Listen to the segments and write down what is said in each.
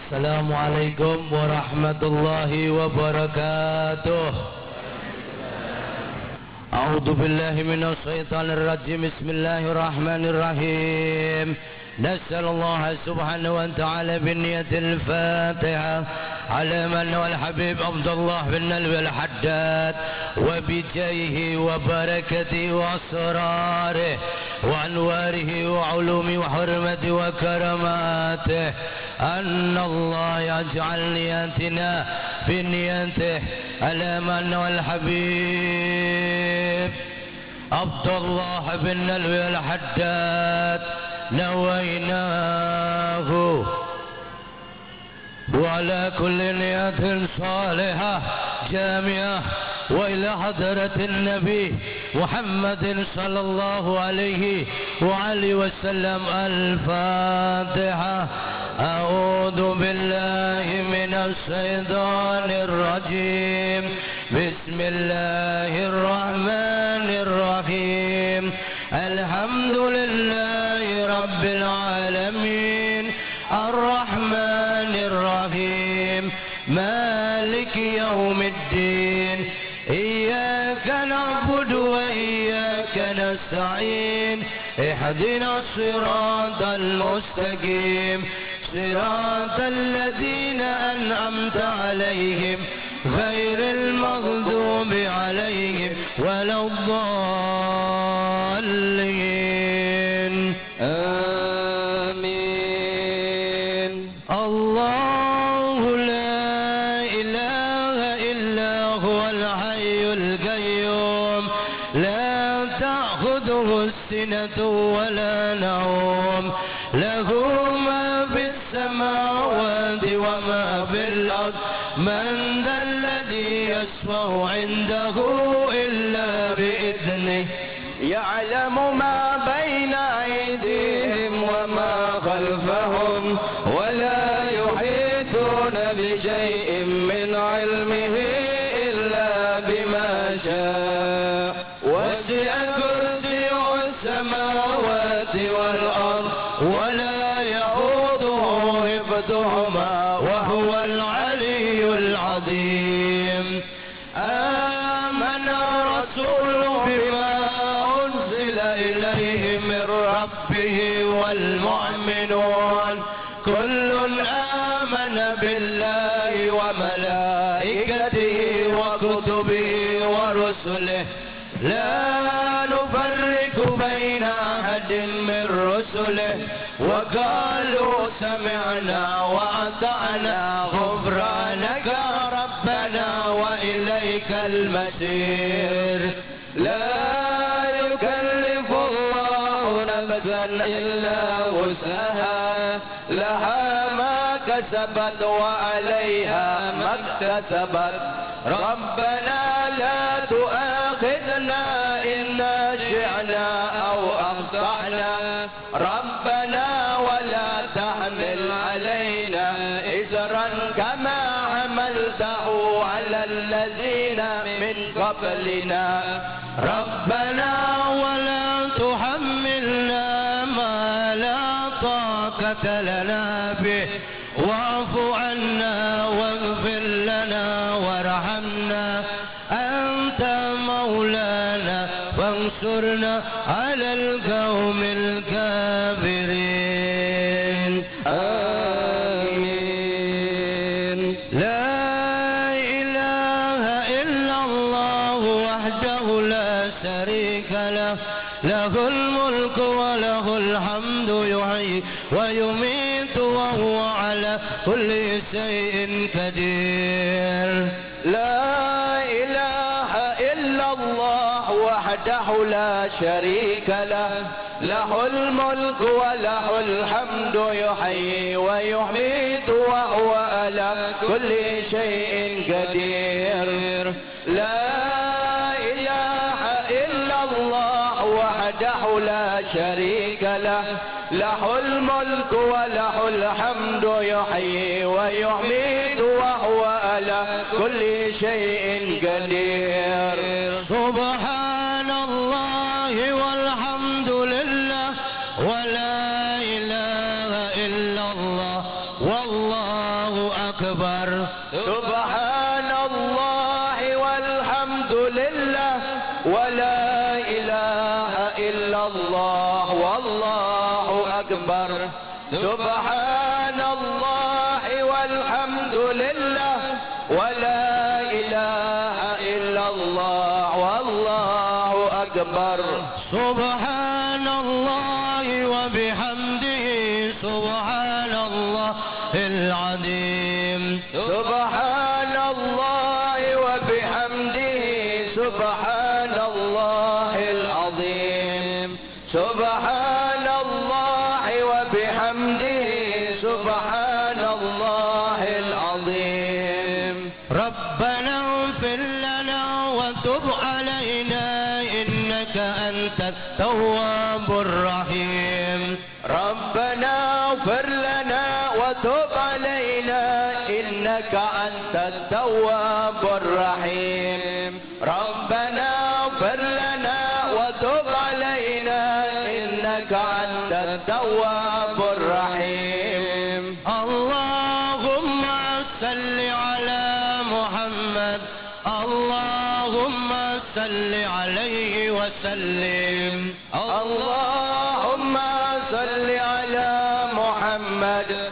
Assalamualaikum warahmatullahi wabarakatuh. A'udzu billahi minasy syaithanir rajim. Bismillahirrahmanirrahim. Nas'alullaha subhanahu wa ta'ala binniyatil Fatihah ala man wal habib Abdullah bin Alwi al-Haddad wa bijayhi wa barakatihi wa asrarihi wa anwarihi wa ulumi wa hurmati wa karamatihi anna Allah yaj'al niyatina binniyatihi ala man wal habib Abdullah bin Alwi al-Haddad نويناه وعلى كل نية صالحة جامعة وإلى حضرة النبي محمد صلى الله عليه وآله وسلم. الفاتحة. أعوذ بالله من الشيطان الرجيم. بسم الله الرحمن الرحيم. الحمد لله رب العالمين الرحمن الرحيم مالك يوم الدين إياك نعبد وإياك نستعين اهدنا الصراط المستقيم صراط الذين أنعمت عليهم غير المغضوب عليهم ولا الضالين. آمين. الله لا إله إلا هو الحي القيوم لا تأخذه السنة ولا نوم له ما في السماوات وما في الأرض من ذا الذي يشفع عنده إلا بإذنه يعلم ما بين أيديهم وما خلفهم ولا يحيطون بشيء من علمه إلا بما شاء وسع كرسيه السماوات والأرض ولا يؤوده حفظهما وهو العلي العظيم. آمن الرسول بما أنزل إليه من ربه والمؤمنون كل آمن بالله وملائكته وكتبه ورسله لا نفرق بين أحد من رسله وقالوا سمعنا وأطعنا غفرانك ربنا وإليك المصير. لا يكلف الله نفسا إلا وسعها لها ما كسبت وعليها ما اكتسبت ربنا لا تؤاخذنا إن نسينا أو أخطأنا ربنا ولا تحمل علينا إصرا كما حملته على الذين من قبلنا ربنا ولا تحملنا ما لا طاقة لنا به واعف عنا واغفر لنا وارحمنا أنت مولانا فانصرنا على القوم الكافرين. آمين. لا إله إلا الله وحده لا شريك له له الملك وله الحمد يحيي ويميت وهو على كل شيء قدير. لا إله إلا الله وحده لا شريك له له الملك وله الحمد يحيي ويميت وهو على كل شيء قدير. لا إله إلا الله وحده لا شريك له له الملك وله الحمد يحيي ويميت وهو على كل شيء قدير. سبحان الله والحمد لله ولا إله إلا الله والله الله أكبر سبحان الله والحمد لله ولا إله إلا الله والله أكبر سبحان الله والحمد لله ولا إله إلا الله والله أكبر سبحان الله وبحمده سبحان الله العظيم سبحان الله وبحمده سبحان الله العظيم سبحان الله وبحمده سبحان الله العظيم ربنا اغفر لنا وتب علينا إنك أنت التواب الرحيم ربنا اغفر لنا وتب علينا إنك أنت التواب الرحيم ربنا اغفر لنا وتب علينا إنك أنت التواب الرحيم اللهم صل على محمد اللهم صل عليه وسلم اللهم صل على محمد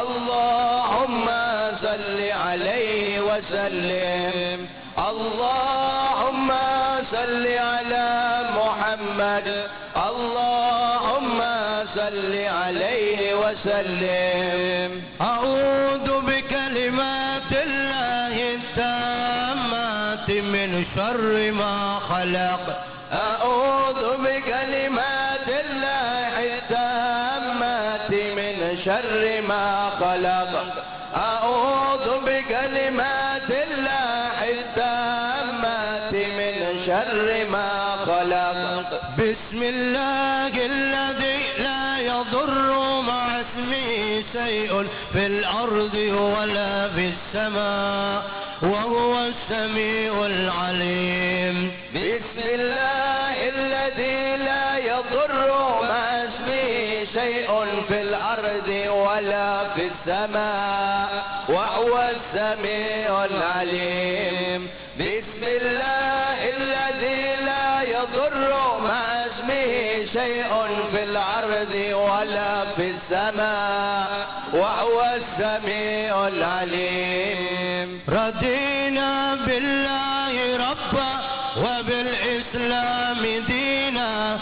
اللهم صل عليه وسلم اللهم صل على محمد اللهم صل عليه وسلم أعوذ بكلمات الله التامات من شر ما خلق أعوذ بكلمات الله التامات من شر ما خلق أعوذ بكلمات الله التامات من شر ما خلق بسم الله الذي لا يضر مع اسمه شيء في الأرض ولا في السماء وهو السميع العليم بسم الله الذي لا يضر مع اسمه شيء في الأرض ولا في السماء وهو السميع العليم بسم الله الذي لا يضر مع اسمه شيء في الأرض ولا في السماء وهو السميع العليم رضينا بالله ربا وبالإسلام دينا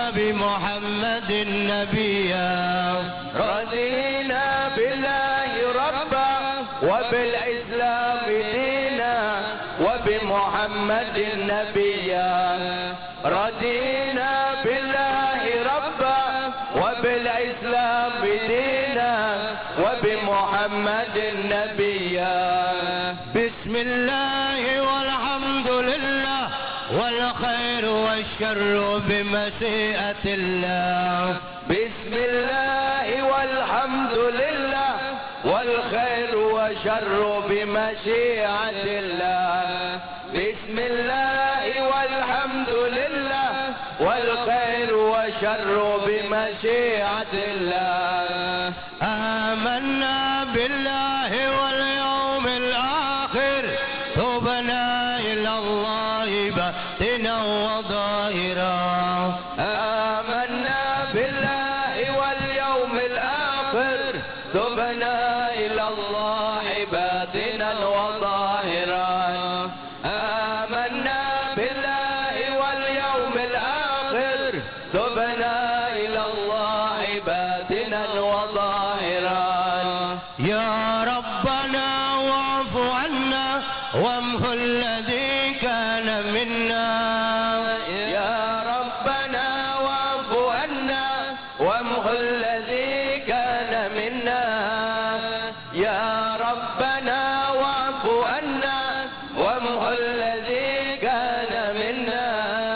وبمحمد نبيا رضينا بالله ربا وبالإسلام دينا وبمحمد نبيا رضينا بالله ربا وبالإسلام دينا وبمحمد نبيا بسم الله والحمد لله والخير والشر بمشيئة الله بسم الله والحمد لله والخير والشر بمشيئة الله بسم الله والحمد لله والخير والشر بمشيئة الله آمنا بالله واليوم الآخر تبنا إلى الله باطنا وظاهرا آمنا بالله واليوم الآخر تبنا إلى الله باطنا وظاهرا آمنا بالله واليوم الآخر تبنا إلى الله باطنا وظاهرا يا ربنا واعف عنا وامحو الذي كان منا يا ربنا واعف عنا وامحو الذي كان منا يا ربنا واعف عنا وامحو الذي كان منا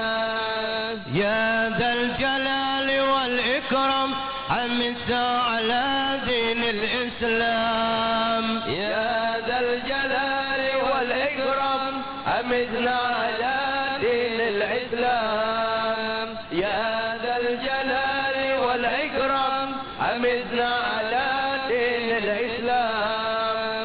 يا ذا الجلال والإكرام أمتنا على دين الإسلام يا ذا الجلال والإكرام أمتنا على دين الإسلام يا ذا الجلال والإكرام أمتنا على دين الإسلام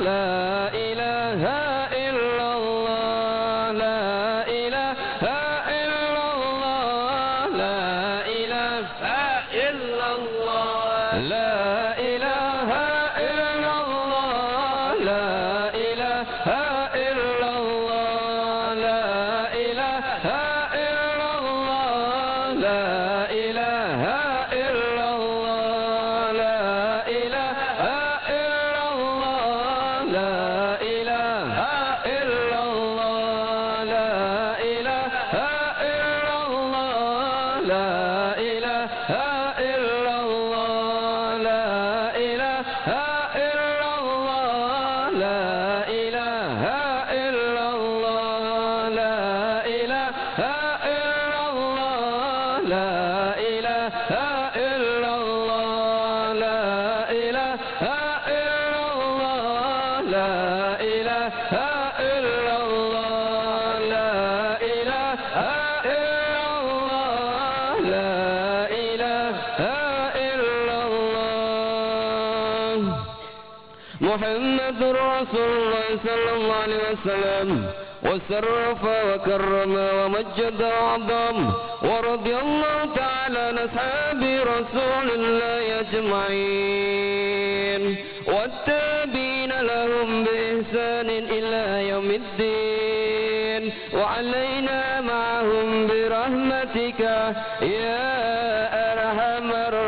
محمد رسول الله صلى الله عليه وسلم وشرف وكرم ومجد وعظم ورضي الله تعالى عن أصحاب رسول الله أجمعين والتابعين لهم بإحسان إلى يوم الدين وعلينا معهم برحمتك يا أرحم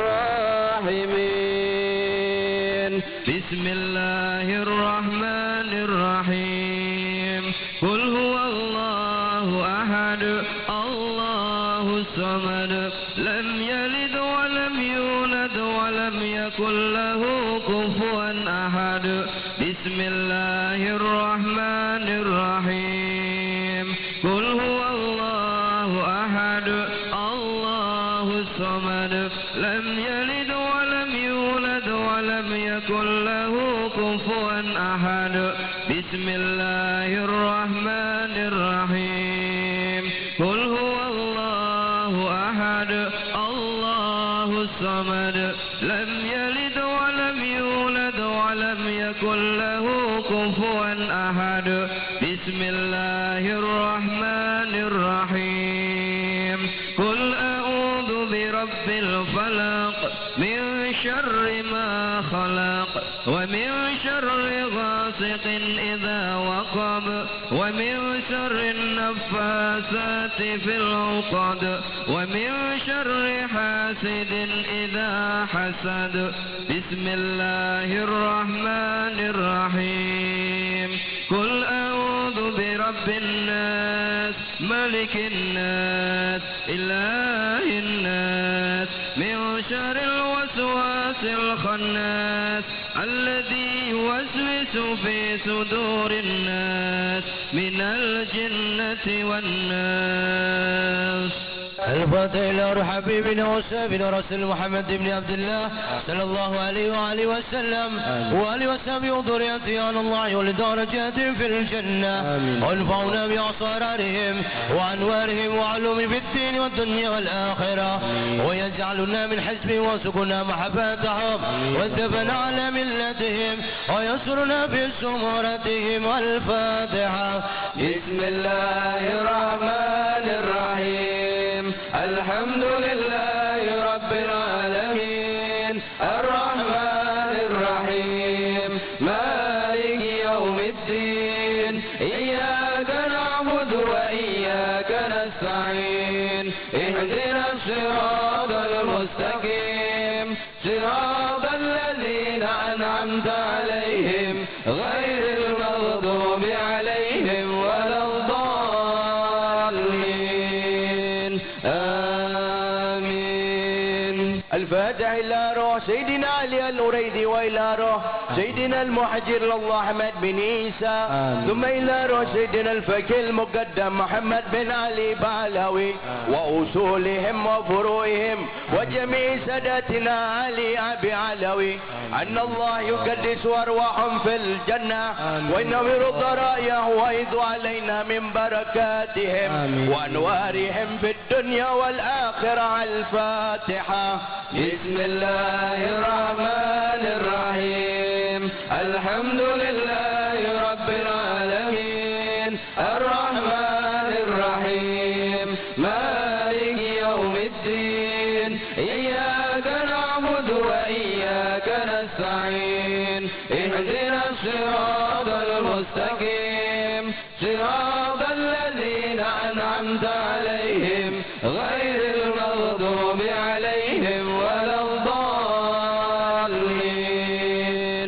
الراحمين. بسم الله الرحمن الرحيم. قل هو الله أحد الله الصمد لم يلد ولم يولد ولم يكن له كفوا أحد. بسم الله الرحمن الرحيم. قل هو الله أحد الله الصمد لم يلد ولم يولد ولم يكن له كفوا أحد. بسم الله الرحمن الرحيم. قل هو الله أحد الله الصمد لم يلد ولم يولد ولم يكن له كفوا أحد. بسم الله الرحمن الرحيم. قل أعوذ برب الفلق من شر ما خلق ومن شر غاسق إذا وقب ومن شر النفاثات في العقد ومن شر حاسد إذا حسد. بسم الله الرحمن الرحيم. قل أعوذ برب الناس ملك الناس إله الناس من شر الوسواس الخناس الذي يوسوس في صدور الناس من الجنة والناس. الفاتح إلى حبيبنا وسابنا رسول محمد بن عبد الله صلى الله عليه وآله وسلم وآله وصحبه وذريته على الله ولدرجات في الجنة وانفعنا بأسرارهم وأنوارهم وعلوم في الدين والدنيا والآخرة ويجعلنا من حزبهم وسكنا محبتهم واتبعنا على ملتهم ويسرنا في سمرتهم. الفاتحة. بسم الله الرحمن الرحيم. الحمد لله رب العالمين الرحمن الرحيم مالك يوم الدين إياك نعبد وإياك نستعين اهدنا الصراط المستقيم صراط الذين أنعمت عليهم غير المغضوب عليهم ولا الضالين. آمين. الفاتح إلى روح سيدنا علي الأريدي وإلى روح سيدنا المحجر لله أحمد بن عيسى ثم إلى روح سيدنا الفقيه المقدم محمد بن علي بعلوي وأصولهم وفروعهم وجميع سادتنا علي أبي علوي أن الله يقدس أرواحهم في الجنة وينور الضرايا ويض علينا من بركاتهم وأنوارهم في الدنيا والآخرة. الفاتحة. بسم الله الرحمن الرحيم. الحمد لله رب العالمين الرحمن الرحيم مالك يوم الدين إياك نعبد وإياك نستعين اهدنا الصراط المستقيم صراط الذين أنعمت عليهم غير المغضوب عليهم ولا الضالين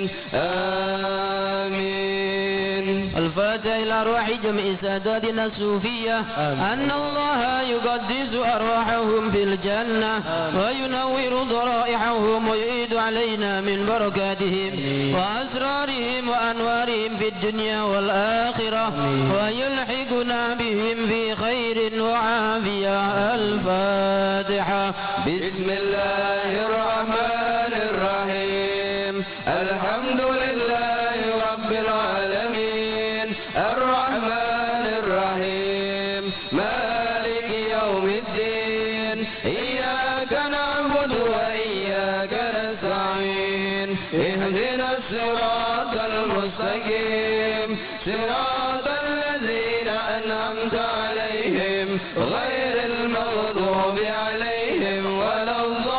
آمين. الفاتحة إلى أرواح جميع ساداتنا الصوفية أن الله يقدس أرواحهم في الجنة وينور ضرائحهم ويعيد علينا من بركاتهم وأسرارهم وأنوارهم في الدنيا والآخرة ويلحقنا بهم في خير وعافية. الفاتحة. بسم الله الرحمن الرحيم الحمد لله رب العالمين الرحمن الرحيم مالك يوم الدين إياك نعبد وإياك نستعين اهدنا الصراط المستقيم صراط الذين أنعمت عليهم غير المغضوب عليهم ولا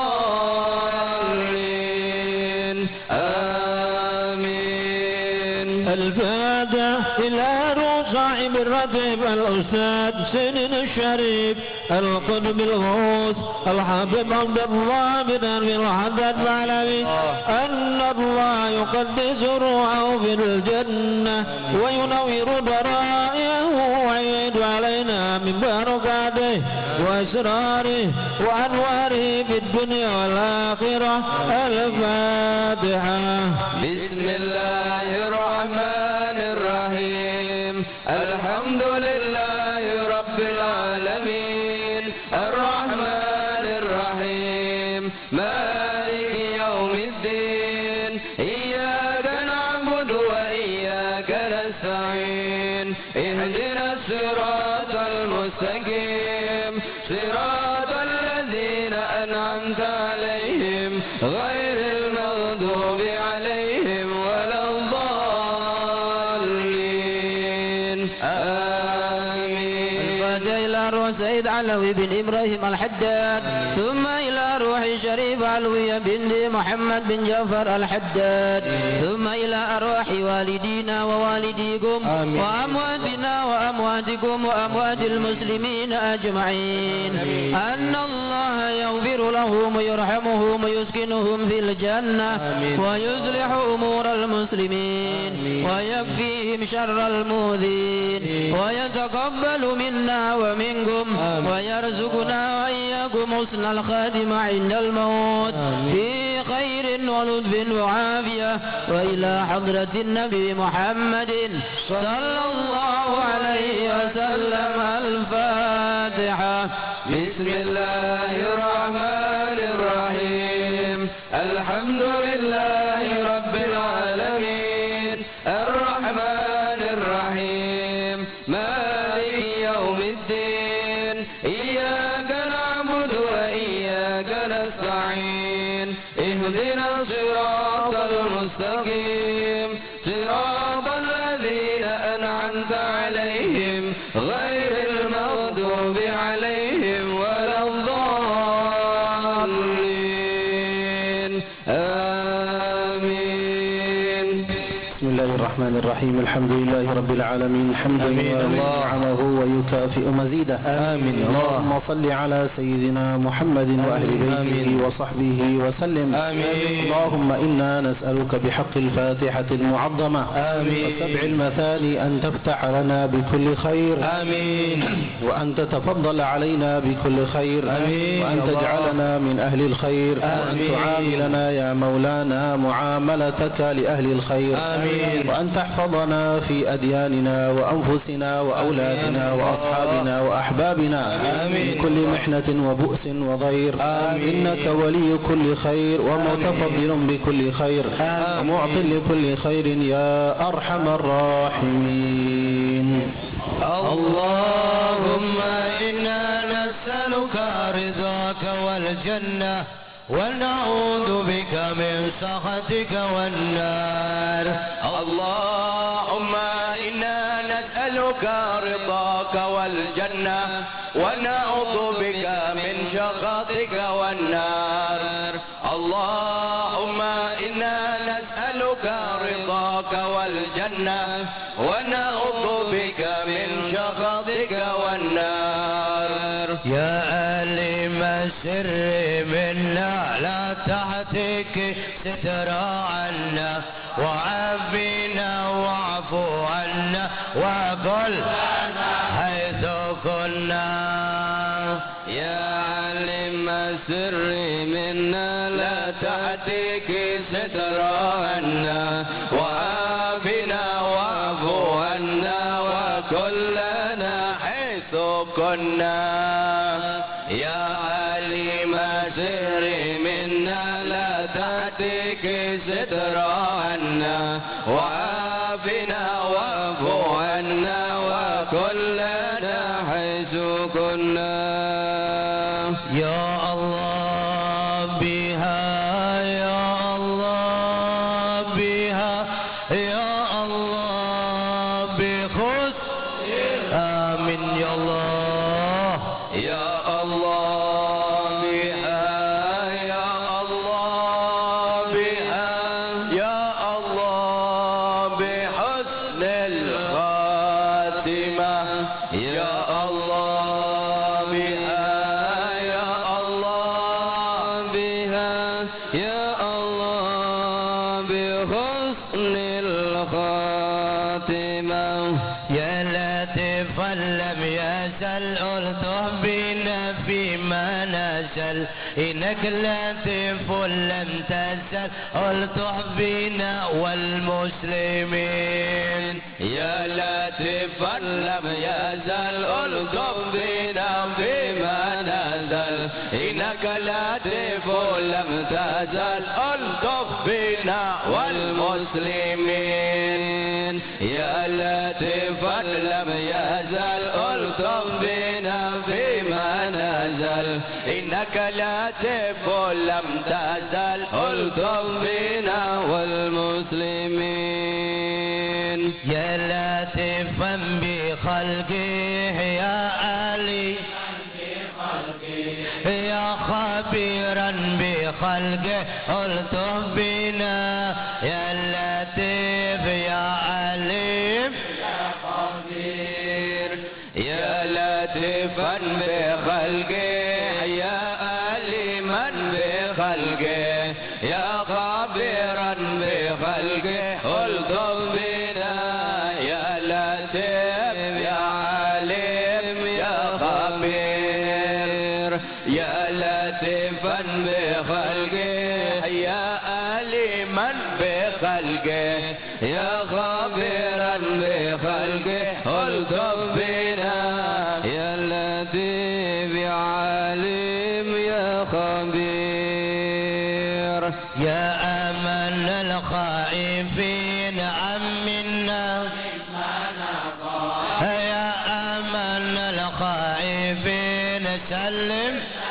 الضالين آمين. الفاتحة إلى روح صاحب الرتب الأستاذ سنين الشريف القطب الغوث الحبيب عبد الله بن أبي الحداد العلوي أن الله يقدس روحه في الجنة وينور ضرائحه ويعيد علينا من بركاته وأسراره وأنواره في الدنيا والآخرة. الفاتحة. بسم الله الرحمن الرحيم الحمد لله رب العالمين الرحمن الرحيم مالك يوم الدين إياك نعبد وإياك نستعين اهدنا الصراط المستقيم صراط الذين أنعمت عليهم غير المغضوب عليهم ولا الضالين آمين. الفاتحة إلى روح سيد علوي بن إبراهيم الحداد ثم إلى روح شريف علوية بنت محمد بن جعفر الحداد ثم إلى أرواح والدينا ووالديكم وأمواتنا وأمواتكم وأموات المسلمين أجمعين أن الله يغفر لهم ويرحمهم ويسكنهم في الجنة ويصلح أمور المسلمين ويكفيهم شر المؤذين ويتقبل منا ومنكم ويرزقنا وإياكم حسن الخاتمة عند الموت في خير ولطف وعافية. وإلى حضرة النبي محمد صلى الله عليه وسلم. الفاتحة. بسم الله الرحمن الرحيم الحمد لله رب العالمين الرحمن الرحيم مالك يوم الدين إياك نعبد وإياك نستعين اهدنا الصراط المستقيم صراط الذين أنعمت عليهم غير المغضوب عليهم ولا الضالين آمين. بسم الله الرحمن الرحيم الحمد لله رب العالمين حمدا نعمه ويكافئ مزيده. آمين. اللهم صل على سيدنا محمد وأهل بيته وصحبه وسلم. آمين. اللهم إنا نسألك بحق الفاتحة المعظمة وسبع المثاني أن تفتح لنا بكل خير. آمين. وأن تتفضل علينا بكل خير. آمين. وأن تجعلنا من أهل الخير. وأن تعاملنا يا مولانا معاملتك لأهل الخير. آمين. وأن تحفظنا في أدياننا وأنفسنا وأولادنا وأصحابنا وأحبابنا من كل محنة وبؤس وضير. إنك ولي كل خير ومتفضل بكل خير ومعط لكل خير يا أرحم الراحمين. اللهم إنا نسألك رضاك والجنة ونعوذ بك من سخطك والنار. اللهم إنا نسألك رضاك والجنة ونعوذ بك من سخطك والنار. اللهم إنا نسألك رضاك والجنة ونعوذ بك من سخطك والنار. يا أليم السر منا لا تحتك ستر عنا وعافنا واعفو عنا وقل حيث كنا. يا علم السر منا لا تحتك ستر عنا وعافنا واعفو عنا وكلنا حيث كنا. يا عليم السر منا لا تحتك ستر عنا وعافنا واعفو عنا وكلنا حيث كنا. يا الله بها يا الله بها يا الله بخص آمين يا الله. يا الله بها يا الله بها يا الله بحسن الخاتمة. يا الله بها يا الله بها يا الله بحسن الخاتمة. يا لطيفا لم يزل ألطف بنا فيما نزل إنك لطيف لم تزل ألطف بنا والمسلمين. يا لطيفا لم يزل ألطف بنا فيما نزل إنك لطيف لم تزل ألطف بنا والمسلمين. يا لطيفا لم يزل ألطف بنا فيما نزل إنك لطيف لم تزل ألطف بنا والمسلمين. يا لطيفا بخلقه يا علي يا خبيرا بخلقه الطف بنا. يا لطيف يا عليم يا خبير يا لطيفا بخلقه يا عليما بخلقه يا خبيرا بخلقه الطف بنا. يا لطيف يا عليم يا خبير يا لطيفا بخلقه يا عليما بخلقه يا خبيرا بخلقه الطف بنا. يا لطيف يا عليم يا خبير. يا أمن الخائفين أمنا يا أمن الخائفين سلم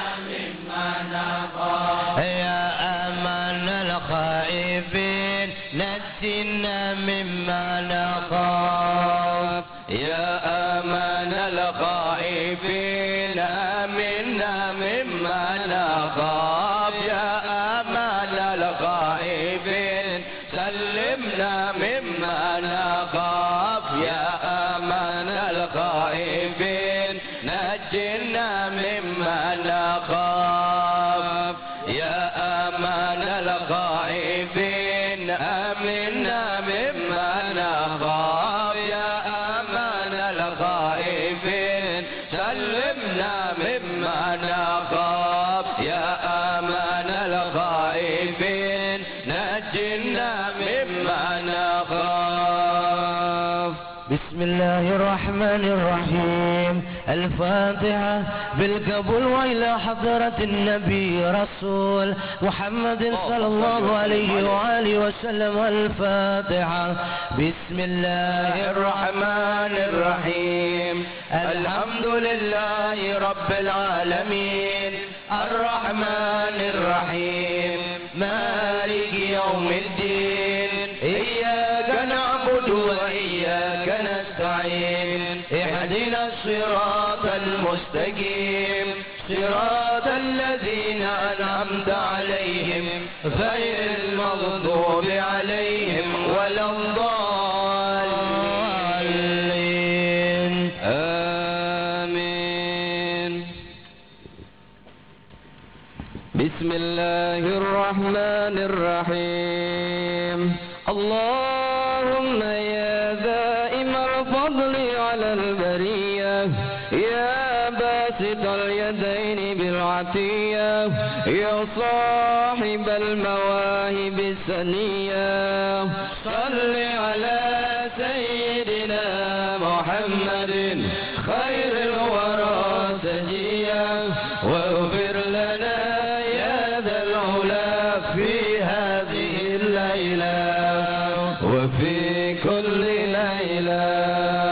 يا أمن الخائفين نجنا مما نخاف. يا أمان الخائفين آمنا مما نخاف. يا أمان الخائفين سلمنا مما نخاف. يا أمان الخائفين نجنا مما نخاف. يا أمان الخائفين آمنا مما نخاف. يا أمان الخائفين سلمنا مما نخاف. يا أمان الخائفين نجنا مما نخاف. بسم الله الرحمن الرحيم. الفاتحة بالقبول وإلى حضرة النبي رسول محمد صلى الله عليه وآله وسلم. الفاتحة. بسم الله الرحمن الرحيم. الحمد لله رب العالمين الرحمن الرحيم مالك يوم الدين إياك نعبد وإياك نستعين اهدنا الصراط المستقيم صراط الذين أنعمت عليهم غير المغضوب عليهم ولا الضالين آمين. بسم الله الرحمن الرحيم. اللهم يا دائم الفضل على البرية يا باسط اليدين بالعطية يا صاحب المواهب السنية صل على سيدنا محمد خير الورى سجيا واغفر لنا يا ذا العلا في هذه الليلة وفي كل ليلة.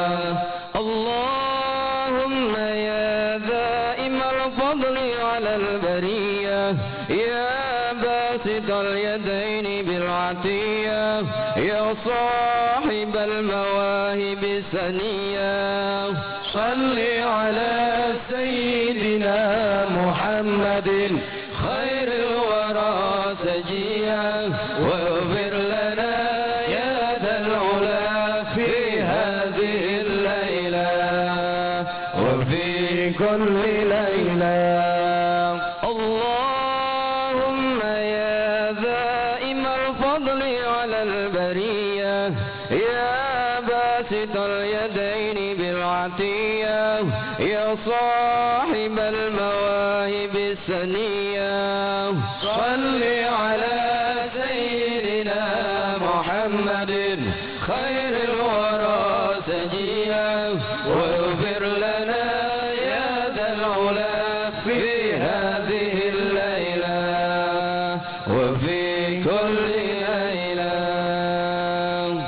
اللهم يا دائم الفضل على البرية يا باسط اليدين بالعطية يا صاحب المواهب السنية صل على سيدنا محمد خير الورى سجيا واغفر لنا يا ذا العلا في هذه الليلة وفي كل ليلة. اللهم يا دائم الفضل على البرية يا باسط اليدين بالعطية يا صاحب المواهب السنية صل على سيدنا محمد خير الورى سجيا واغفر لنا يا ذا العلا في هذه الليلة وفي كل